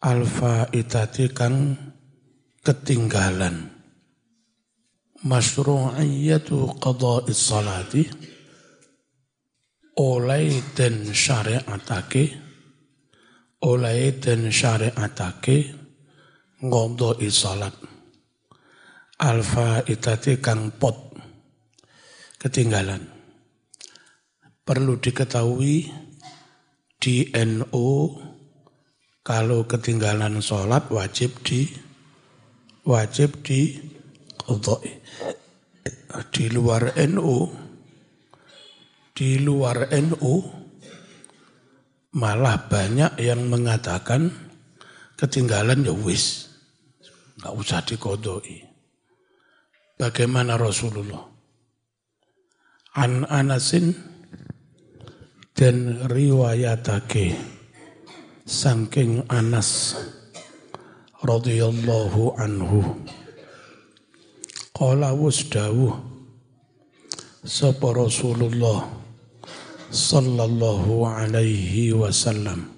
Al-faitati kang ketinggalan. Masyru'iyatu qada'is salati oleh den syariatake ngodoi salat. Al-faitati kang pot ketinggalan. Perlu diketahui di NU kalau ketinggalan sholat wajib di qadai. Di luar NU malah banyak yang mengatakan ketinggalan ya wis, nggak usah diqadai. Bagaimana Rasulullah? An Anasin dan riwayatake saking Anas radhiyallahu anhu qala wasdawuh sapa Rasulullah sallallahu alaihi wasallam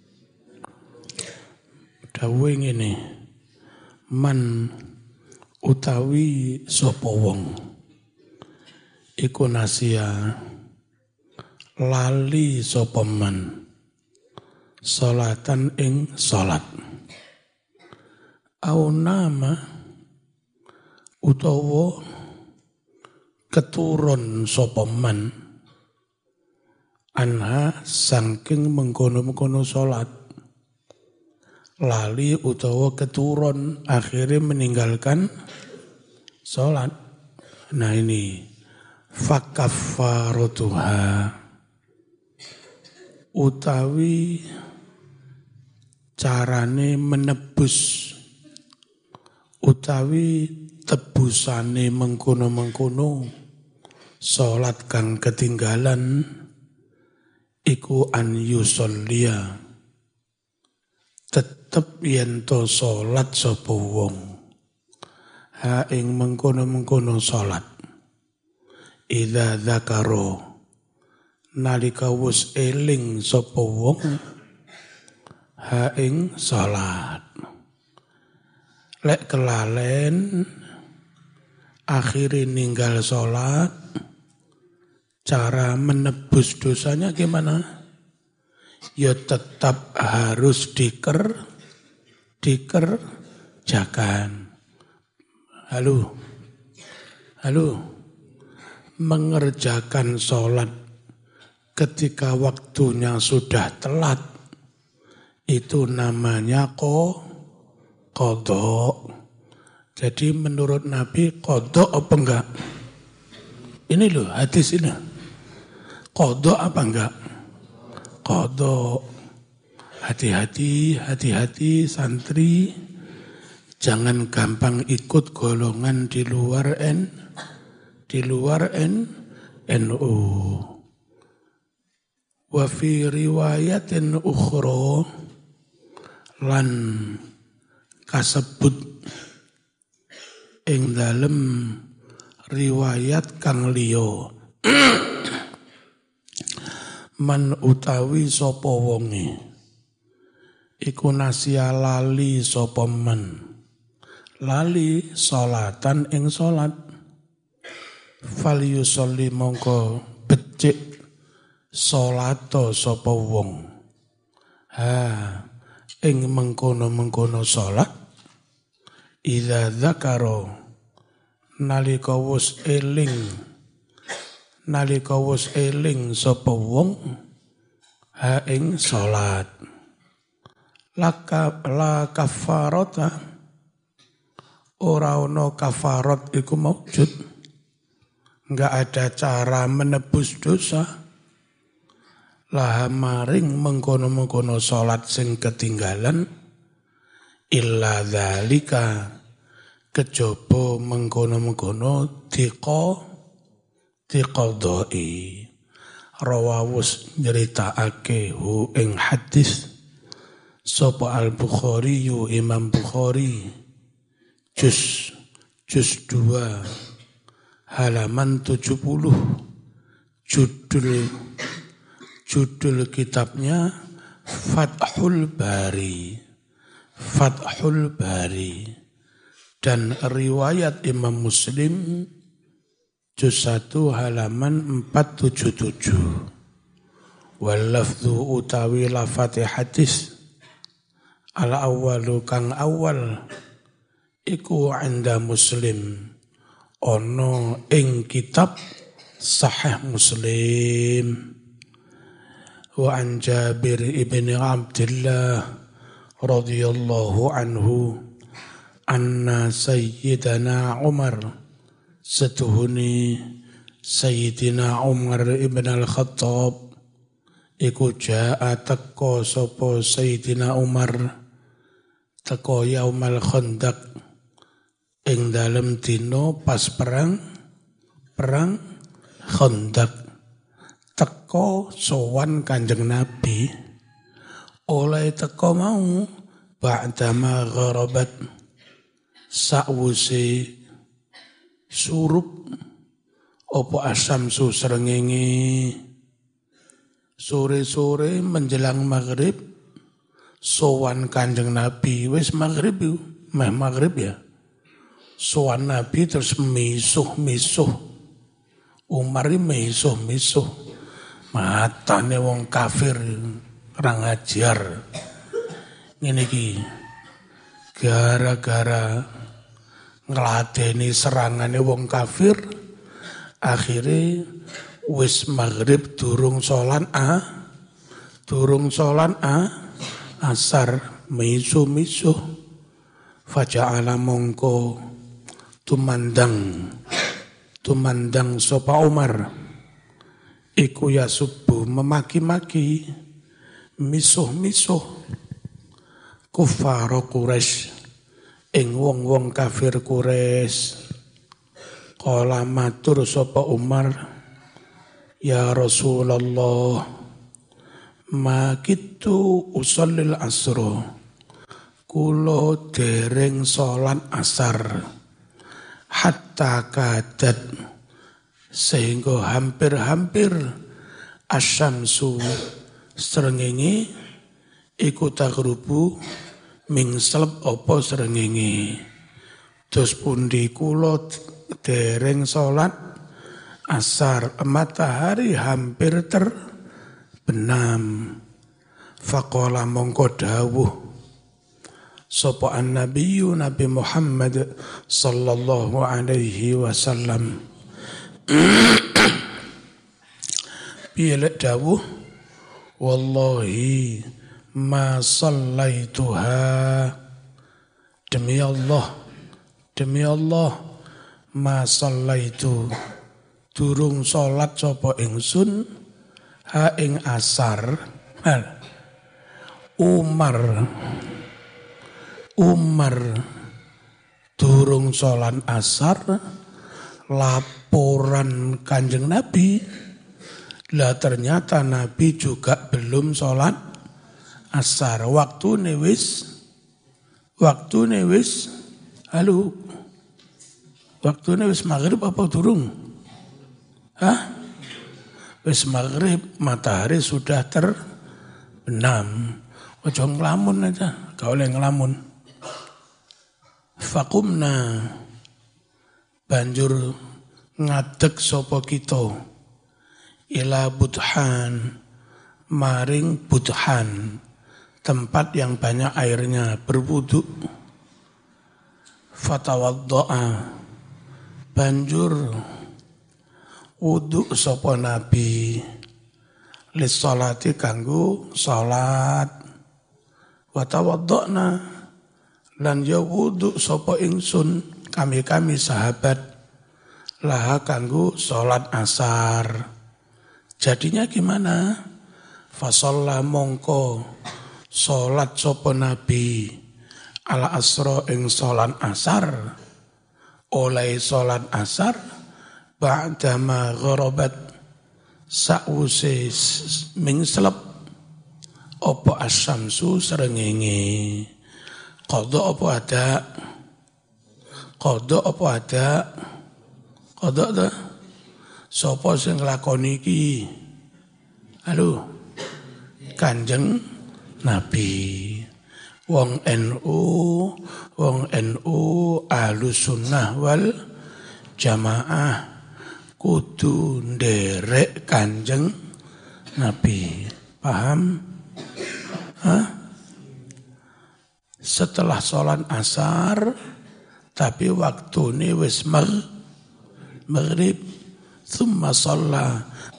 dawuh ngene man utawi sapa wong iku nasia lali sapa man salatan ing salat au nama utawa keturun sapa man anha saking mengkono-mengkono salat lali utawa keturun akhirnya meninggalkan salat. Nah ini fakaffaratuha utawi carane menebus utawi tebusane mengkono-mengkono salat kang ketinggalan iku an yusollia tetep yen to salat sapa wong ha ing mengkono-mengkono salat idza dzakaro nalika wis eling sapa wong ha ing salat lek kelalen akhirnya ninggal salat cara menebus dosanya gimana? Ya tetap harus dikerjakan. Halo. Mengerjakan sholat ketika waktunya sudah telat itu namanya qadha. Jadi menurut Nabi qadha apa enggak? Ini loh hadis ini. Qadha apa enggak? Qadha. Hati-hati santri. Jangan gampang ikut golongan di luar NU. Wa fi riwayatin ukhra lan kasebut ing dalem riwayat kang liya man utawi sapa wonge iku nasia lali sapa man lali salatan ing salat fal yusolli mongko becik salato sapa wong ing mengkono-mengkono salat idza dzakara nalika wis eling sapa wong ha ing salat la kafarata ora ono kafarat iku maujud enggak ada cara menebus dosa lah maring mengkono-mengkono salat sing ketinggalan illa dzalika kejaba mengkono-mengkono diqadai rawawus nyeritakake hu ing hadis sapa al-Bukhari Imam Bukhari juz 2 halaman 70 judul kitabnya Fathul Bari Fathul Bari dan riwayat Imam Muslim juz 1 halaman 477. Wal lafdhu utawi lafati hadis al awwalu kang awal iku anda Muslim ono ing kitab Sahih Muslim. Wa an Jabir ibn Abdullah radhiyallahu anhu anna sayyidana Umar setuhuni Sayyidina Umar ibn al-Khattab iku jaa teko sapa Sayyidina Umar teko yaumal Khandaq ing dalem dina pas perang Khandaq teko sowan Kanjeng Nabi oleh teko mau ba'dama gharabat sakwuse surup opo asamsu srengenge sore-sore menjelang maghrib sowan Kanjeng Nabi wis maghrib ya sowan Nabi terus misuh Umar misuh matane wong kafir ora ngajar ngene iki gara-gara ngladeni serangane wong kafir akhire wis maghrib durung sholat asar misuh faja'ala mongko tumandang sapa Umar iku ya subuh memaki-maki misuh kufar Quraisy ing wong-wong kafir Quraisy. Qala matur sapa Umar ya Rasulullah ma kitu usallil asra kula dereng salat asar hatta kadat sehingga hampir-hampir asyamsu srengenge iku tagrubu mingselep apa srengenge dos pundi kula dereng salat asar matahari hampir terbenam faqala mongko dawuh sapa annabiyyu Nabi Muhammad sallallahu alaihi wasallam piye dawuh wallahi ma sallaituha demi Allah ma sallaitu durung salat sapa ingsun ha ing asar Umar durung salat asar laporan Kanjeng Nabi lah ternyata Nabi juga belum salat asar waktune wis maghrib apa durung? Wis maghrib, matahari sudah terbenam. Ojo ngelamun aja, gak oleh ngelamun. Faqumna banjur ngadeg sapa kita ila Budhan maring Budhan tempat yang banyak airnya berwudu. Fatawaddo'a banjur wudu sapa Nabi lis salati kanggo salat wa tawaddo'na lan ya wudu sapa ingsun kami sahabat laha kanggo salat asar. Jadinya gimana? Fasalla mongko salat sapa Nabi ala asra ing salat asar oleh salat asar ba'dama gharabat sa'use mingslep apa asyamsu srengenge qada apa ada ta sapa sing nglakoni iki halo Kanjeng Nabi wong NU Ahlus Sunnah wal Jamaah kudu nderek Kanjeng Nabi. Paham? Hah? Setelah sholat asar, tapi waktu ini wis maghrib, thumma sholla.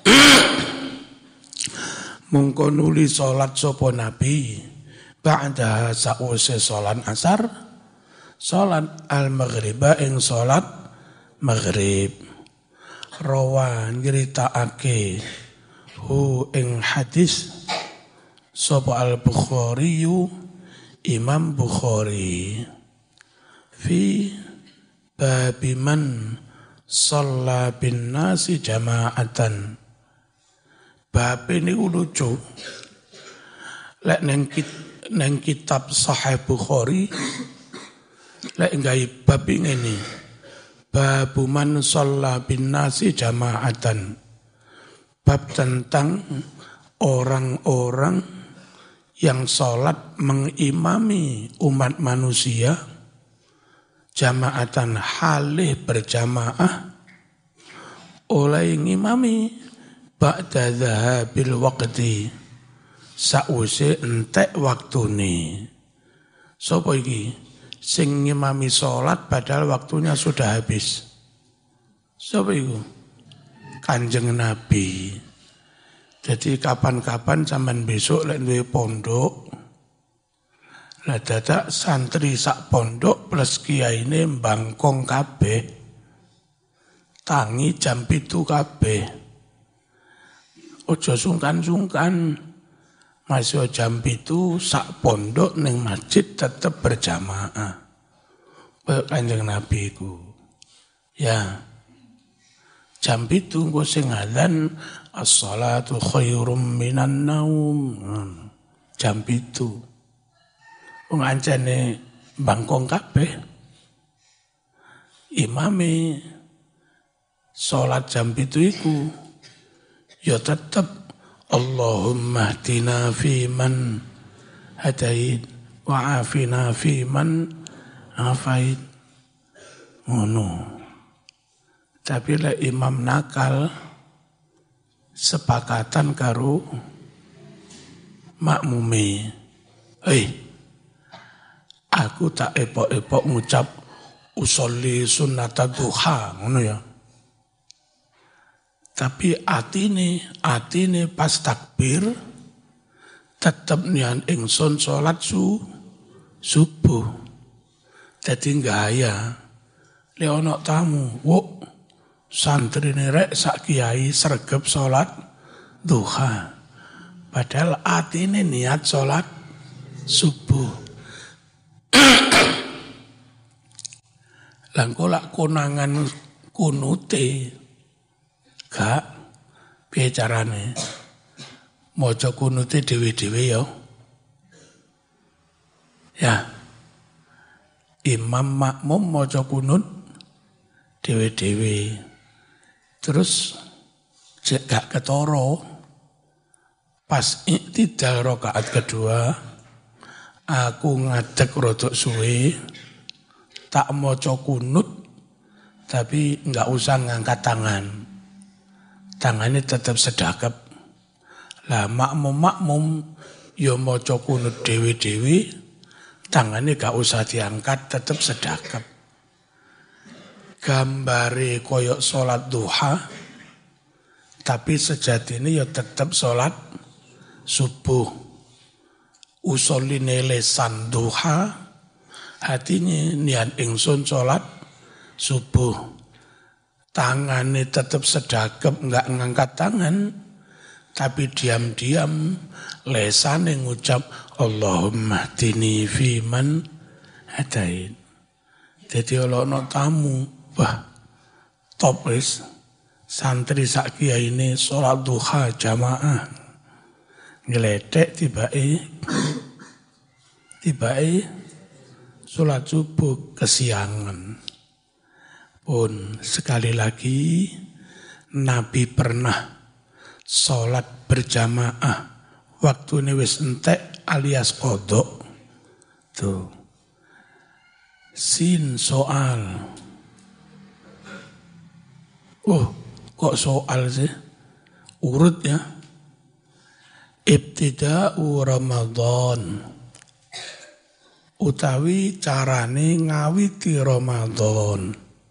Mungko nuli sholat sopo Nabi, ba'da sa'use sholat asar, sholat al-maghriba ing sholat maghrib. Rawa nyritakake hu ing hadis sopo al-Bukhariyu Imam Bukhari fi babi man shalla bin nasi jama'atan. Bab ini lucu. Lek neng kitab Sahih Bukhari lek gawe bab ini. Babu man shalla bin nasi jama'atan. Bab tentang orang-orang yang sholat mengimami umat manusia jama'atan halih berjamaah oleh ngimami ba'da dhahabil waqti sa'use entek waktune. Sopo iki sing ngimami sholat padahal waktunya sudah habis? Sopo iku? Kanjeng Nabi. Jadi kapan-kapan zaman besok lek duwe pondok, lah dadak santri sak pondok plus kiyaine mbangkong kabeh. Tangi jam 7 kabeh. Ojo sungkan-sungkan. Masih jam 7 sak pondok ning masjid tetep berjamaah. Kanjeng Nabi ku. Ya. Jam 7 engko sing adzan as-salatu khairum minan naum. Jam 7. Wong ancene bangkong kabeh. Imame salat jam 7 iku ya tetep Allahumma hdina fi man hadait wa afina fi man afait. Ngono. Tapi lek imam nakal sepakatan karo makmume. Aku tak epok-epok ngucap usolli sunnata duha, ngono ya. Tapi atine pas takbir tetep nian ingsun salat subuh. Dadi gaya lek ana tamu, wuk santrine rek sak kiai sregep salat duha. Padahal atine niat salat subuh. Langkolak konangan kunute gak piye carane maca kunute dhewe-dhewe ya. Ya. Imam makmum maca kunut dhewe-dhewe. Terus gak ketara pas iktidal rakaat kedua aku ngadeg rodok suwe tak maca kunut tapi enggak usah ngangkat tangan. Tangannya tetap sedekap. Lah makmum ya maca kunut dhewe-dhewe, tangannya gak usah diangkat tetap sedekap. Gambare koyok salat duha tapi sejatine ya tetap salat subuh. Usoline lesan duha, hatinya niat ingsun salat subuh. Tangannya tetap sedekap, enggak ngangkat tangan, tapi diam-diam lesane ngucap Allahumma hdini fi man hadait. Jadi ana tamu, wah top wis santri sak kiai ini salat duha jamaah. Ngeletek tibae salat subuh kesiangan. Pun sekali lagi Nabi pernah salat berjamaah waktu ini wis entek alias qodok Tuh. Sin soal. Oh, kok soal sih? Urut ya. Ibtida'u Ramadan. Utawi carane ngawiti Ramadan.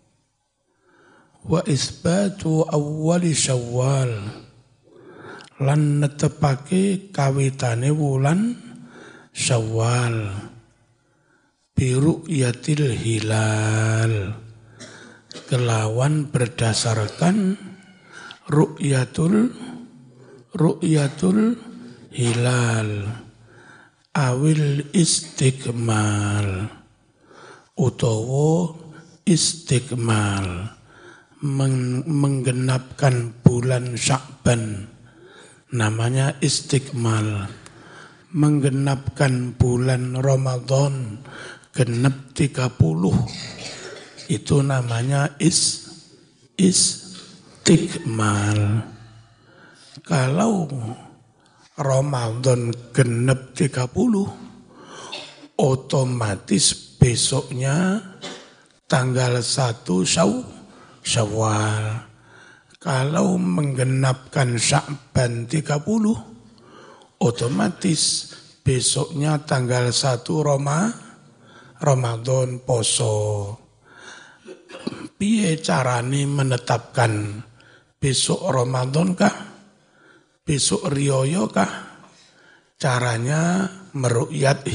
Wa isbatu awwali Syawal. Lan netepake kawitane wulan Syawal. Biru'yatil hilal. Kelawan berdasarkan ru'yatul hilal awil istiqmal utawa istiqmal menggenapkan bulan Sya'ban namanya istiqmal, menggenapkan bulan Ramadan genep 30 itu namanya istiqmal. Kalau Ramadan genep 30, otomatis besoknya tanggal 1 Syawal. Kalau menggenapkan Sya'ban 30, otomatis besoknya tanggal 1 Ramadan poso. Piye carane menetapkan besok Ramadan kah? Besok riyaya kah? Caranya meru'yat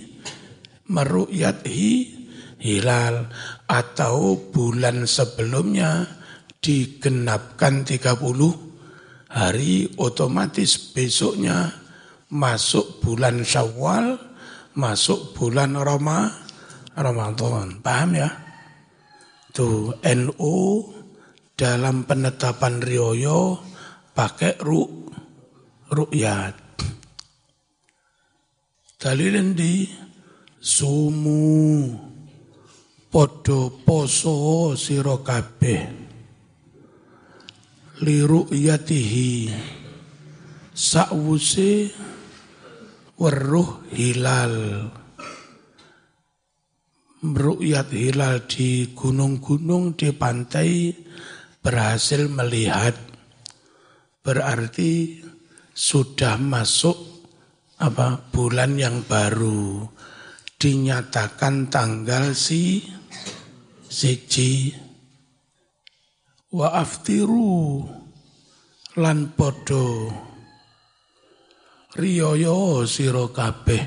hilal atau bulan sebelumnya digenapkan 30 hari, otomatis besoknya masuk bulan Syawal, masuk bulan Ramadan. Paham ya? Tuh NU dalam penetapan riyaya pakai ru'yat. Dalil di sumu podo poso sira kabeh li ru'yatihi sakwuse weruh hilal. Ru'yat hilal di gunung-gunung, di pantai berhasil melihat, berarti sudah masuk bulan yang baru, dinyatakan tanggal siji. Wa aftiru lan podo riyaya sira kabeh.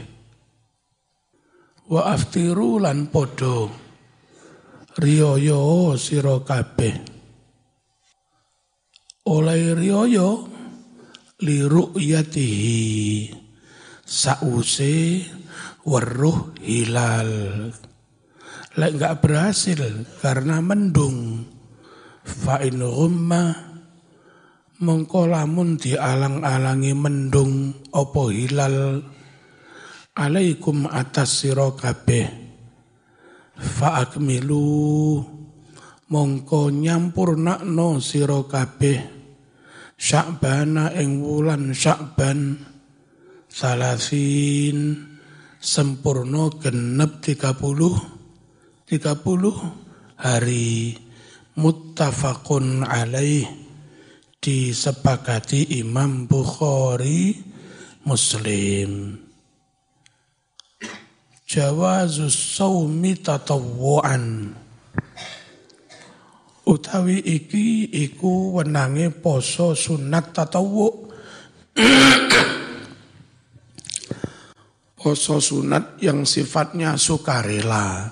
Wa aftiru lan podo riyaya sira kabeh. Oleh riyaya li ru'yatihi sause weruh hilal. Lek enggak berhasil karena mendung, fa in ghumma mongko lamun dialang-alangi mendung apa hilal alaikum atas sira kabeh fa akmilu mongko nyampurnakno sira kabeh Sya'bana ing wulan Sya'ban salasin sempurna genep 30 hari muttafaqun alaih disepakati Imam Bukhari Muslim. Jawazus shaumi tatawwu'an utawi iki iku wenange poso sunat tatawwu. Poso sunat yang sifatnya sukarela.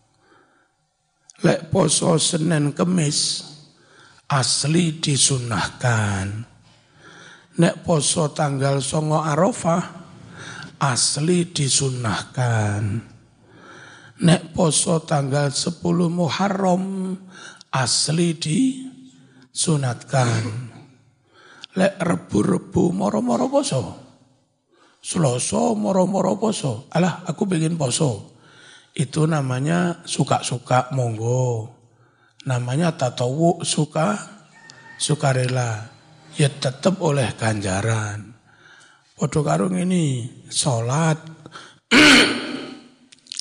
Lek poso Senin Kemis asli disunahkan. Nek poso tanggal 9 Arafah asli disunahkan. Nek poso tanggal 10 Muharram asli disunatkan. Lek rebu-rebu moro-moro poso. Selasa moro-moro poso. Alah aku pengen poso. Itu namanya suka-suka monggo. Namanya tatawu sukarela. Ya tetap oleh ganjaran. Podo karung ini sholat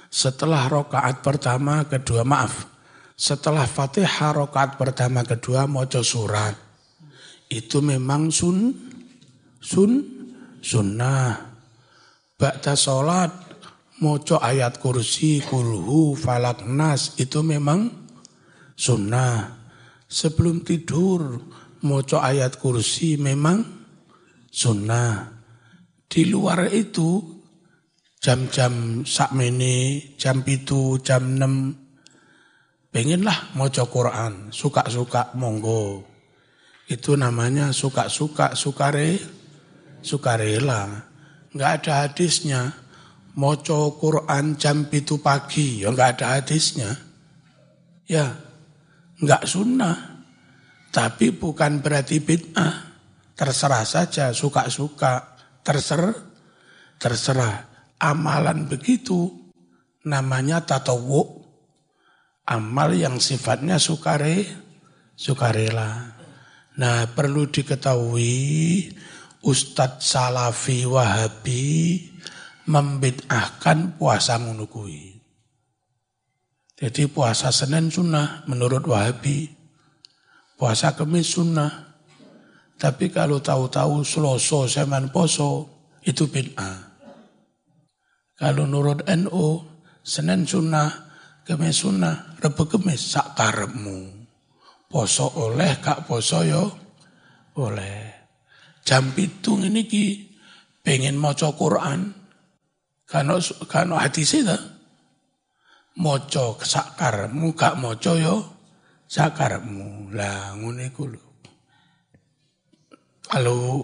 setelah rakaat pertama kedua setelah Fatihah rakaat pertama kedua maca surat. Itu memang sunnah. Ba'da salat maca ayat kursi, kulhu, falak, nas itu memang sunnah. Sebelum tidur maca ayat kursi memang sunnah. Di luar itu jam-jam sakmene, jam 7, jam 6 pengenlah maca Quran, suka-suka monggo. Itu namanya suka-suka, sukarela. Enggak ada hadisnya. Maca Quran jam 7 pagi, ya enggak ada hadisnya. Ya, enggak sunnah. Tapi bukan berarti bid'ah. Terserah saja, suka-suka, terserah. Amalan begitu namanya tatawwu. Amal yang sifatnya sukarela. Nah, perlu diketahui Ustadz Salafi Wahabi membid'ahkan puasa ngono kuwi. Jadi puasa Senin sunnah menurut Wahabi. Puasa Kamis sunnah. Tapi kalau tahu-tahu Selasa zaman poso itu bid'ah. Kalau menurut NU Senin sunnah, Kamis sunnah, Rebo Kamis sak karepmu. Poso oleh, gak poso yo oleh. Jam 7 ini ki pengen maca Quran. Kano hadis itu. Maca sak karepmu, gak maca yo sak karepmu. Lah ngene iku lho. Kalau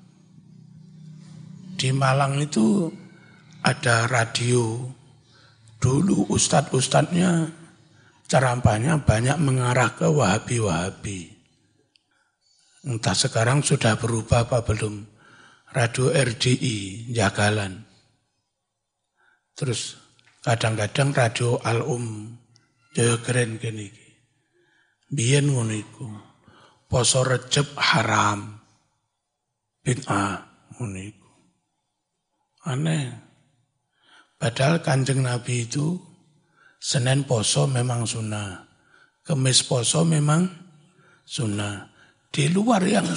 di Malang itu ada radio. Dulu ustadz-ustadznya ceramahnya banyak mengarah ke Wahabi-Wahabi. Entah sekarang sudah berubah apa belum. Radio RDI, Jagalan. Terus kadang-kadang radio Al-Um, Jaya keren gini. Biyen ngono iku. Poso Recep haram. Bid'ah ngono iku. Aneh. Padahal Kanjeng Nabi itu Senin poso memang sunnah. Kemis poso memang sunnah. Di luar yang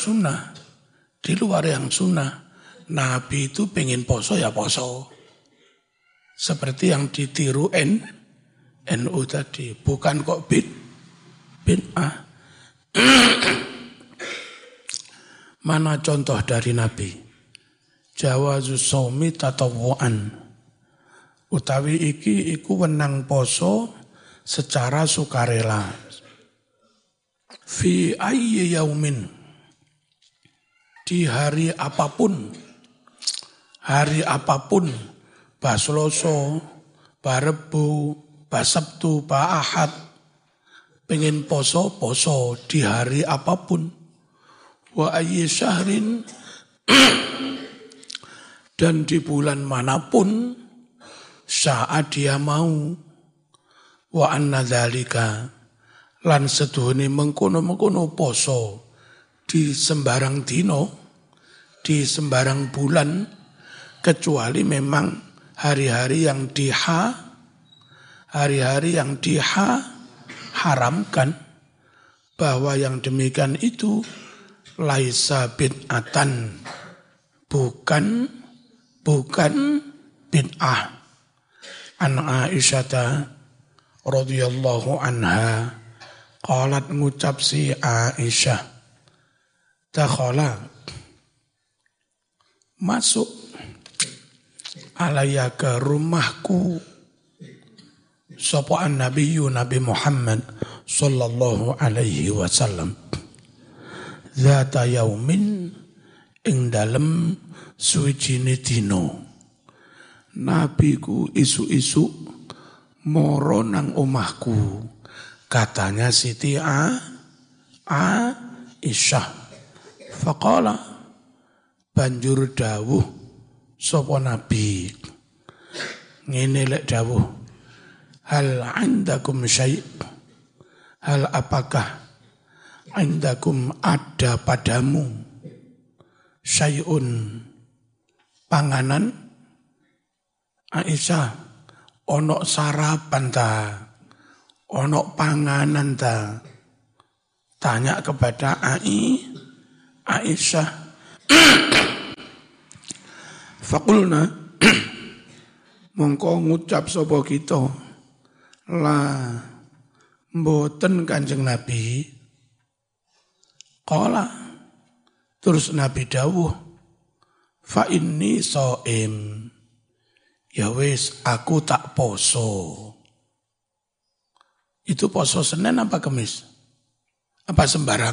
sunnah. Nabi itu pengen poso ya poso. Seperti yang ditiru NU tadi. Bukan kok bid'ah. Mana contoh dari Nabi? Jawazus shaumi tatawwu'an. Utawi iku wenang poso secara sukarela. Fi ayyi yaumin. Di hari apapun. Ba Selasa, ba Rebo, ba Sabtu, ba Ahad. Pengen poso di hari apapun. Wa ayyi syahrin. Dan di bulan manapun saat dia mau. Wa anna dzalika lan seduhune mengkono-mengkono poso di sembarang dino, di sembarang bulan, kecuali memang hari-hari yang diharamkan, bahwa yang demikian itu laisa bid'atan, bukan bid'ah. An Aisyah radhiyallahu anha qalat ngucap si Aisyah, dakhala masuk alaya ke rumahku sapa Nabi Muhammad sallallahu alaihi wasallam zata yaumin ing dalem suwijine dina. Nabi ku isu-isu moro nang omahku. Katanya Siti Aisyah. Faqala banjur dawuh sapa Nabi. Ngene lek dawuh. Hal indakum syai'? Hal apakah indakum ada padamu syai'un panganan? Aisyah, Ono sarapan ta? Ono panganan ta? Tanya kepada Aisyah. Fakulna mongko ngucap sapa kita, la mboten Kanjeng Nabi. Qala terus Nabi dawuh, fa inni shaim. Ya wis aku tak poso. Itu poso Senin apa Kamis? Apa sembarang?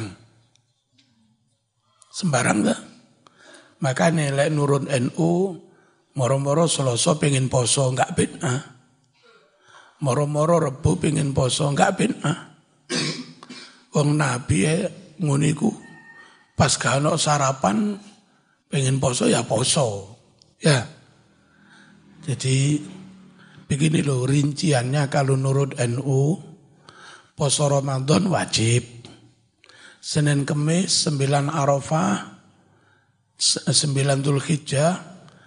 Sembarang tak? Makanya lek nurut NU, moro-moro Selasa pengen poso, enggak bid'ah. Moro-moro Rebu pengen poso, enggak bid'ah. Wong Nabi nguniku, pas gak ono sarapan, pengen poso ya poso. Ya. Jadi begini loh rinciannya kalau nurut NU, poso Ramadan wajib. Senin Kemis, 9 Arafah, 9 Dzulhijjah,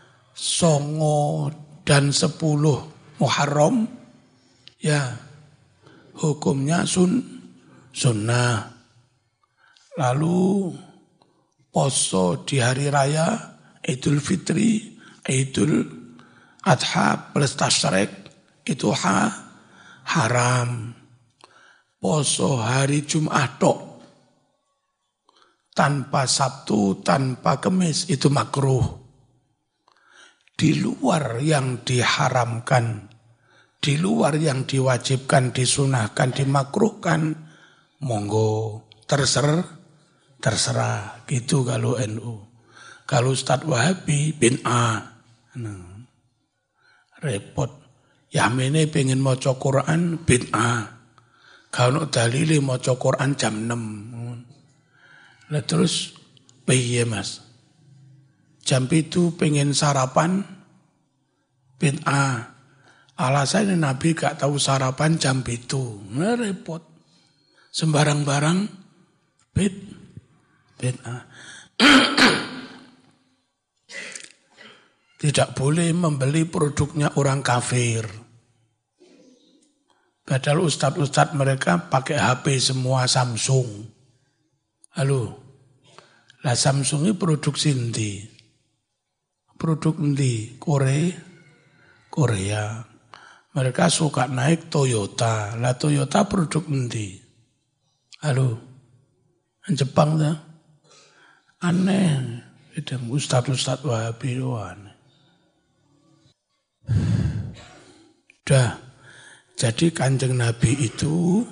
9 dan 10 Muharram, ya hukumnya sunnah. Lalu poso di hari raya Idul Fitri, Idul Adha plus Tasyrik itu haram. Poso hari Jumat tanpa Sabtu, tanpa Kemis itu makruh. Di luar yang diharamkan, di luar yang diwajibkan, disunahkan, dimakruhkan, monggo terserah. Gitu kalau NU. Kalau Ustadz Wahabi bid'ah. Repot. Yamene pengen maca Quran bid'ah. Kalau dalile maca Quran jam 6. Lah terus piye Mas? Jam itu pengen sarapan bid'ah. Alasannya Nabi gak tahu sarapan jam itu. Nah, repot. Sembarang barang bid'ah. Tidak boleh membeli produknya orang kafir. Padahal ustadz mereka pakai HP semua Samsung. Halo, lah Samsung ini produksi endi? Produk endi? Korea. Mereka suka naik Toyota. Lah Toyota produk endi? Halo, Jepang dah. Aneh. Itu ustadz Wahabi aneh. Dah. Jadi Kanjeng Nabi itu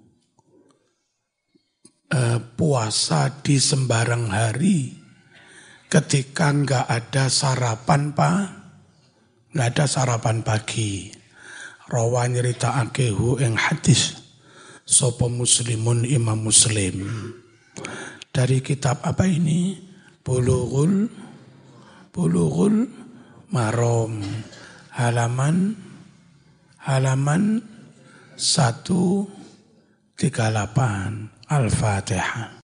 puasa di sembarang hari ketika enggak ada sarapan enggak ada sarapan pagi. Rawa nyeritakake ing hadis sapa Muslimun Imam Muslim. Dari kitab apa ini? Bulughul Maram. Halaman 138. Al-Fatihah.